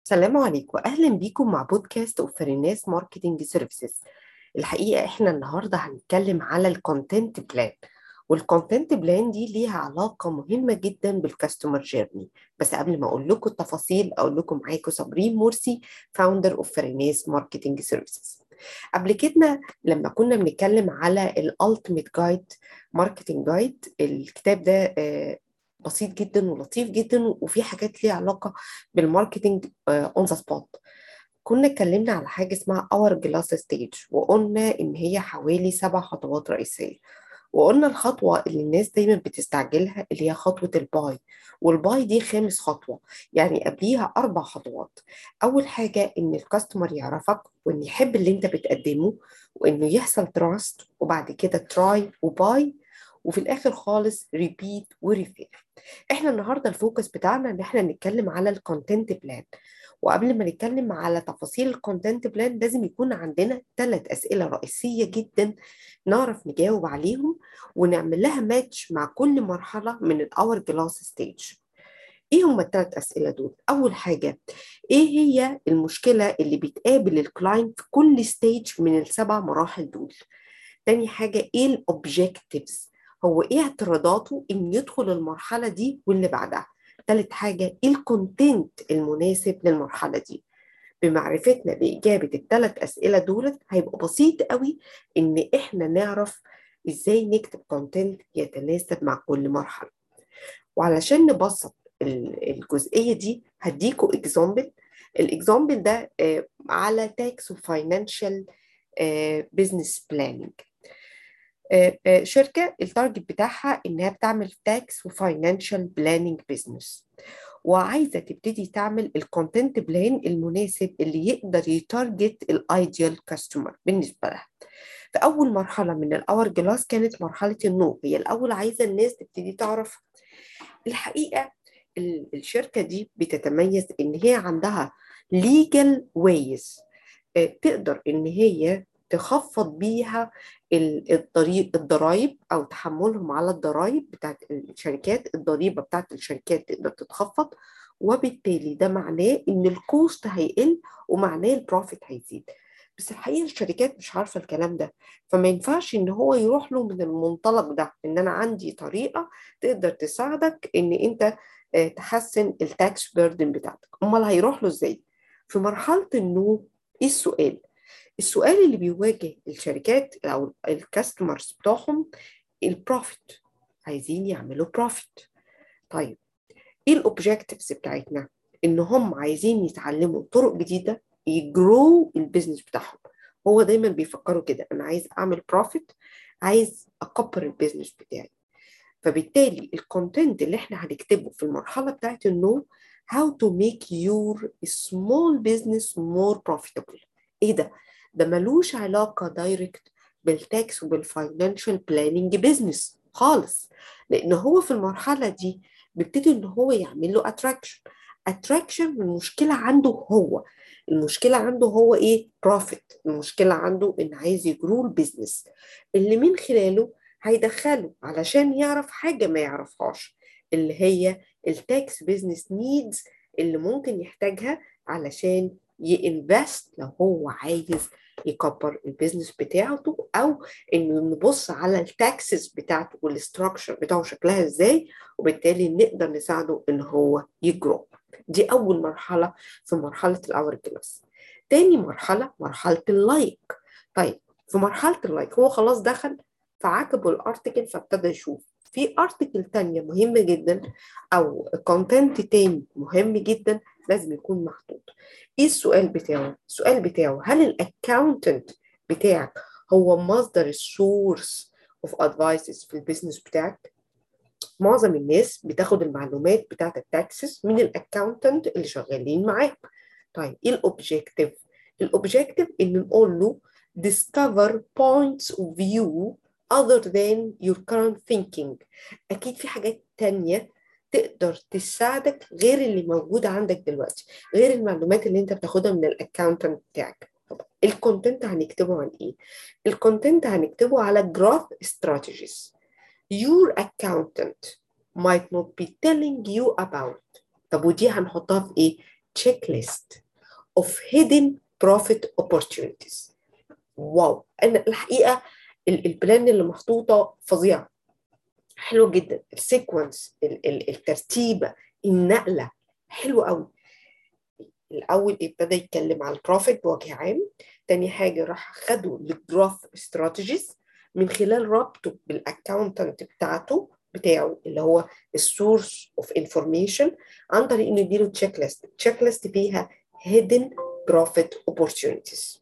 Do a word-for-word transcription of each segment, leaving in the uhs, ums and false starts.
السلام عليكم، أهلا بيكم مع بودكاست أوفريناس ماركتينج سيرفيسز. الحقيقة إحنا النهاردة هنتكلم على الكونتنت بلان. والكونتنت بلان دي ليها علاقة مهمة جدا بالكاستمر جيرني. بس قبل ما أقول لكم التفاصيل أقول لكم معاكم صابرين مرسي، فاوندر أوفريناس ماركتينج سيرفيسز. قبل كده لما كنا بنتكلم على الالتيميت جايد ماركتنج جايد، الكتاب ده آه، بسيط جدا ولطيف جدا وفي حاجات ليها علاقة بالماركتنج اون ذا سبوت. كنا اتكلمنا على حاجة اسمها اور جلاس ستيج، وقلنا ان هي حوالي سبع خطوات رئيسية. وقلنا الخطوة اللي الناس دايما بتستعجلها اللي هي خطوة الباي، والباي دي خامس خطوة، يعني قبليها أربع خطوات. أول حاجة إن الكاستمر يعرفك وإن يحب اللي أنت بتقدمه، وإنه يحصل تراست، وبعد كده تراي وباي، وفي الآخر خالص ريبيت وريفير. احنا النهارده الفوكس بتاعنا ان احنا نتكلم على الكونتنت بلان. وقبل ما نتكلم على تفاصيل الكونتنت بلان لازم يكون عندنا ثلاث أسئلة رئيسية جدا نعرف نجاوب عليهم، ونعمل لها ماتش مع كل مرحلة من الأور جلاس ستيج. ايه هم الثلاث أسئلة دول؟ أول حاجة، ايه هي المشكلة اللي بتقابل الكلاينت في كل ستيج من السبع مراحل دول؟ تاني حاجة، ايه الاوبجكتيفز، هو ايه اعتراضاته ان يدخل المرحلة دي واللي بعدها؟ تالت حاجة، ايه الكونتنت المناسب للمرحلة دي؟ بمعرفتنا بإجابة الثلاث أسئلة دولت هيبقى بسيط قوي إن إحنا نعرف إزاي نكتب كونتنت يتناسب مع كل مرحلة. وعلشان نبسط ال- الجزئية دي هديكوا إكزامبل. الإكزامبل ده آه، على تاكس وفاينانشال بزنس بلاننج. شركة التارجت بتاعها إنها بتعمل تاكس وفاينانشال بلاننج بزنس، وعايزة تبتدي تعمل الكونتنت بلان المناسب اللي يقدر يتارجت الايديال كاستمر بالنسبة لها. في أول مرحلة من الأور جلاس كانت مرحلة النو، هي الأول عايزة الناس تبتدي تعرف. الحقيقة ال- الشركة دي بتتميز إن هي عندها legal ways، آه، تقدر إن هي تخفض بيها ال- الضريب الضرائب أو تحملهم على الضرائب بتاعت الشركات. الضريبة بتاعت الشركات تقدر تتخفض، وبالتالي ده معناه إن الكوست هيقل ومعناه البروفيت هيزيد. بس الحقيقة الشركات مش عارفة الكلام ده، فما ينفعش إن هو يروح له من المنطلق ده إن أنا عندي طريقة تقدر تساعدك إن أنت آه، تحسن التاكس بيردن بتاعتك. أمال هيروح له إزاي؟ في مرحلة النو، إيه السؤال؟ السؤال اللي بيواجه الشركات او الكاستمرز بتوعهم البروفيت، عايزين يعملوا بروفيت. طيب ايه الاوبجكتيفز بتاعتنا؟ ان هم عايزين يتعلموا طرق جديده يجرو البيزنس بتاعهم. هو دايما بيفكروا كده، انا عايز اعمل بروفيت، عايز اكبر البيزنس بتاعي. فبالتالي الكونتنت اللي احنا هنكتبه في المرحله بتاعت النو، how to make your small business more profitable. ايه ده؟ ده ملوش علاقه دايركت بالتاكس وبالفاينانشال بلاننج بيزنس خالص، لان هو في المرحله دي بيبتدي ان هو يعمل له اتراكشن. اتراكشن المشكله عنده هو، المشكله عنده هو ايه؟ بروفيت. المشكله عنده ان عايز يجرو البيزنس اللي من خلاله هيدخله علشان يعرف حاجة ما يعرفهاش، اللي هي التاكس بيزنس نيدز اللي ممكن يحتاجها علشان يinvest لو هو عايز يكبر البيزنس بتاعته، او انه نبص على التاكسس بتاعته والاستراكشر بتاعه شكلها ازاي، وبالتالي نقدر نساعده ان هو يجرو. دي اول مرحلة في مرحلة الاور كلاس. تاني مرحلة مرحلة اللايك. طيب في مرحلة اللايك هو خلاص دخل فعجبه الارتكل فابتدى يشوف في ارتكل تانية مهمة جدا او كونتنت تاني مهم جدا لازم يكون محطوط. ايه السؤال بتاعه؟ السؤال بتاعه هل الاكاونتنت بتاعك هو مصدر السورس اوف ادفايسز في البيزنس بتاعك؟ معظم الناس بتاخد المعلومات بتاعت التاكسس من الاكاونتنت اللي شغالين معاك. طيب ايه الاوبجيكتيف؟ الاوبجيكتيف ان نقول له discover points of view other than your current thinking. اكيد في حاجات تانية تقدر تساعدك غير اللي موجودة عندك دلوقتي، غير المعلومات اللي انت بتاخدها من الاكاونتنت بتاعك. طب الكونتنت هنكتبه عن ايه؟ الكونتنت هنكتبه على growth strategies your accountant might not be telling you about. طب ودي هنحطها في ايه؟ checklist of hidden profit opportunities. واو، انا الحقيقه البلان اللي محطوطه فظيعه، حلو جدا، السيكونس، الترتيبه، النقله حلو قوي. الاول ابتدى يتكلم على البروفيت بوجه عام، تاني حاجه راح خدوا الجروث استراتيجيز من خلال ربطه بالاكاونتنت بتاعته بتاعه اللي هو السورس اوف انفورميشن، عن طريق انه يديله تشيك ليست. تشيك ليست فيها hidden profit opportunities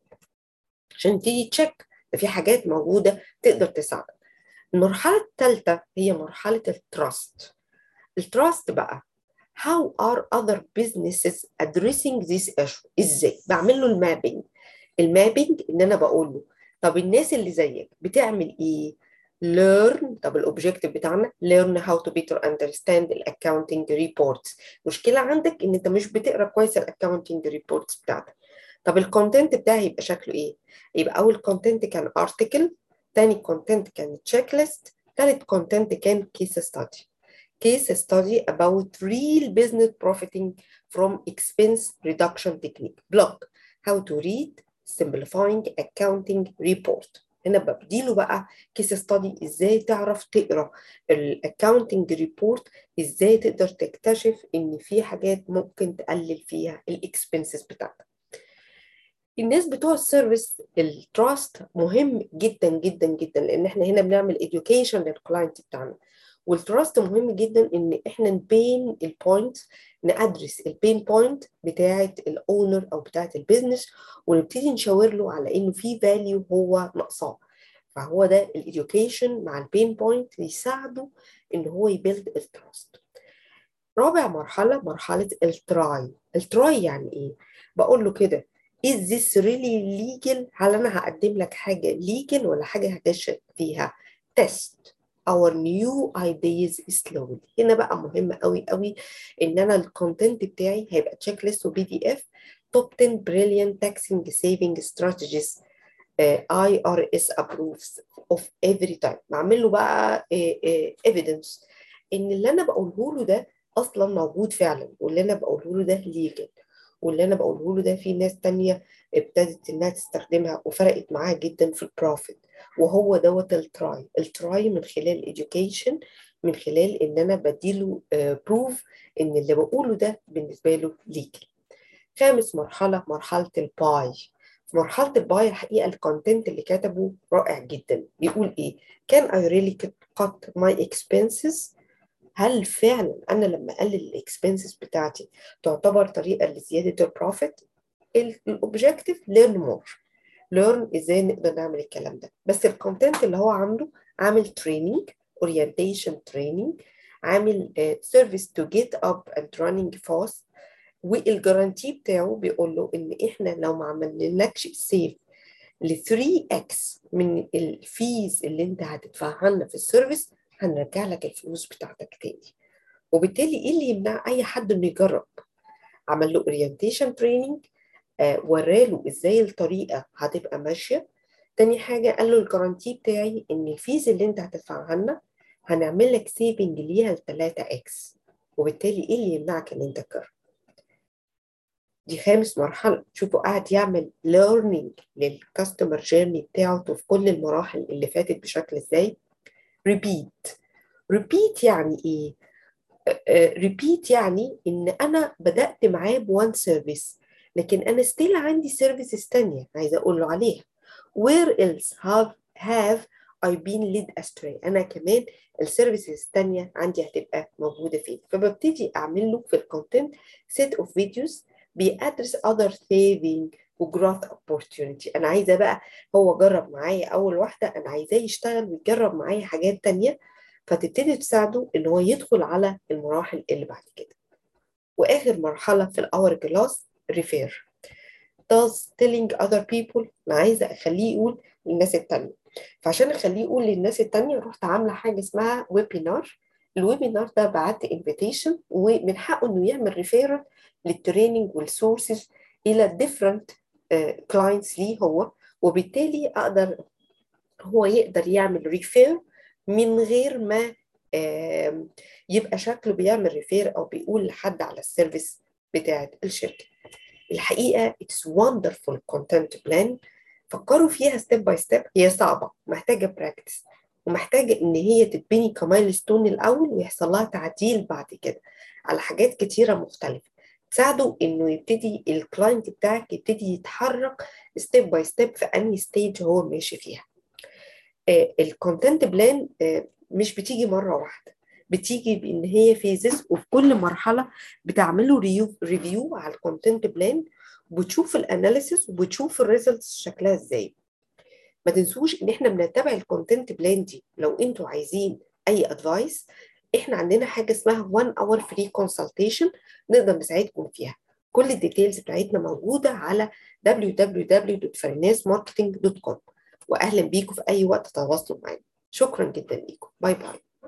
عشان تيجي تشيك ده في حاجات موجوده تقدر تساعدك. المرحله الثالثه هي مرحله التراست. التراست بقى how are other businesses addressing this issue؟ ازاي بعمل له المابينج؟ المابينج ان انا بقول له طب الناس اللي زيك بتعمل ايه؟ learn. طب الاوبجيكتيف بتاعنا learn how to better understand the accounting reports. مشكله عندك ان انت مش بتقرا كويس الاكاونتنج ريبورتس بتاعتك. طب الكونتنت بتاعي يبقى شكله ايه؟ يبقى اول كونتنت كان ارتكل، تاني كونتنت كان تشيك ليست، تالت كونتنت كان كيس ستادي. case study about real business profiting from expense reduction technique. Block how to read simplifying accounting report. هنا بديله بقى case study ازاي تعرف تقرا الاكاونتنج ريبورت، ازاي تقدر تكتشف ان في حاجات ممكن تقلل فيها الاكسبنسز بتاعتك. الناس بتوع السيرفيس التراست مهم جدا جدا جدا، لان احنا هنا بنعمل education للكلاينت بتاعنا، والتراست مهم جدا ان احنا نبين البوينت، نادرس البين بوينت بتاعه الاونر او بتاعه البيزنس، ونبتدي نشاور له على انه في فاليو هو ناقصاه. فهو ده الاديوكيشن مع البين بوينت يساعده ان هو يبيلد التراست. رابع مرحله مرحله التراي. التراي يعني ايه؟ بقول له كده is this really legal؟ هل انا هقدم لك حاجه legal ولا حاجه هتغش فيها؟ test our new ideas slowly. هنا بقى مهم قوي قوي ان انا الكونتنت بتاعي هيبقى تشيك ليست وبي دي اف توب عشرة brilliant taxing saving strategies uh, I R S approves of every time. بعمل له بقى uh, uh, evidence ان اللي انا بقوله له ده اصلا موجود فعلا، واللي انا بقوله له ده legal، واللي انا بقوله له ده في ناس تانية ابتدت انها تستخدمها وفرقت معاها جدا في البروفيت. وهو دوت التراي. التراي من خلال الاديوكيشن، من خلال ان انا بديله بروف ان اللي بقوله ده بالنسبه له ليجل. خامس مرحله مرحله الباي. في مرحله الباي الحقيقه الكونتنت اللي كتبه رائع جدا. بيقول ايه؟ can I really cut my expenses؟ هل فعلا انا لما اقلل الاكسبنسز بتاعتي تعتبر طريقه لزياده البروفيت؟ الاوبجيكتيف ليرن مور، ليرن ازاي نقدر نعمل الكلام ده. بس الكونتنت اللي هو عامله عامل تريننج، اورينتيشن تريننج، عامل سيرفيس تو جيت اب اند رانينج فاست، والجارانتي بتاعه بيقول له ان احنا لو ما عملناكش سيف ل ثري اكس من الفيز اللي انت هتدفعها لنا في السيرفيس هنرجع لك الفلوس بتاعتك تاني. وبالتالي ايه اللي يمنع اي حد انه يجرب؟ عمل له اورينتيشن تريننج، آه وراله ازاي الطريقه هتبقى ماشيه. تاني حاجه قال له الجارانتي بتاعي ان الفيز اللي انت هتدفعها لنا هنعمل لك سيفنج ليها ل ثلاثة اكس، وبالتالي ايه اللي يمنعك ان انت تجرب؟ دي خامس مرحله. شوفوا قاعد يعمل ليرنينج للكاستمر جيرني بتاعته في كل المراحل اللي فاتت بشكل ازاي. ريبيت. ريبيت يعني ايه؟ ريبيت uh, يعني ان انا بدات معاه بوان سيرفيس، لكن انا ستيل عندي سيرفيسز تانية عايزه اقول له عليها. where else have have I been led astray؟ انا كمان السيرفيسز التانية عندي هتبقى موجوده فين. فببتدي اعمل له في الكونتنت سيت اوف فيديوز بيأدرس other saving وجروث opportunity. انا عايزه بقى هو جرب معايا اول واحده، انا عايزاه يشتغل ويجرب معايا حاجات تانية، فتبتدي تساعده ان هو يدخل على المراحل اللي بعد كده. واخر مرحله في الاور جلاس ريفير. does telling other people، انا عايزه اخليه يقول للناس التانية. فعشان اخليه يقول للناس التانية رحت عامله حاجه اسمها ويبينار. الويبينار ده بعت انفيتيشن ومن حقه انه يعمل ريفيرال للتريننج والسورسز الى different كلاينتس ليه هو، وبالتالي اقدر هو يقدر يعمل ريفير من غير ما يبقى شكله بيعمل ريفير او بيقول لحد على السيرفيس بتاعة الشركة. الحقيقة it's wonderful content plan. فكروا فيها ستيب باي ستيب. هي صعبة، محتاجة براكتس، ومحتاجة إن هي تتبني كمايلستون الأول ويحصل لها تعديل بعد كده على حاجات كتيرة مختلفة تساعده إنه يبتدي الكلاينت بتاعك يبتدي يتحرك ستيب باي ستيب في أي ستيج هو ماشي فيها. الكونتنت بلان مش بتيجي مرة واحدة، بتيجي بإن هي فيزز، وفي كل مرحلة بتعملوا ريفيو ريفيو على الكونتنت بلان، وبتشوف الاناليسيس وبتشوف الريزلتس شكلها ازاي. ما تنسوش ان احنا بنتبع الكونتنت بلان دي. لو انتوا عايزين اي ادفايس، احنا عندنا حاجه اسمها one hour free consultation نقدر نساعدكم فيها. كل الديتيلز بتاعتنا موجوده على دبليو دبليو دبليو دوت فريناس ماركتنج دوت كوم. واهلا بيكم في اي وقت تواصلوا معانا. شكرا جدا ليكم. باي باي.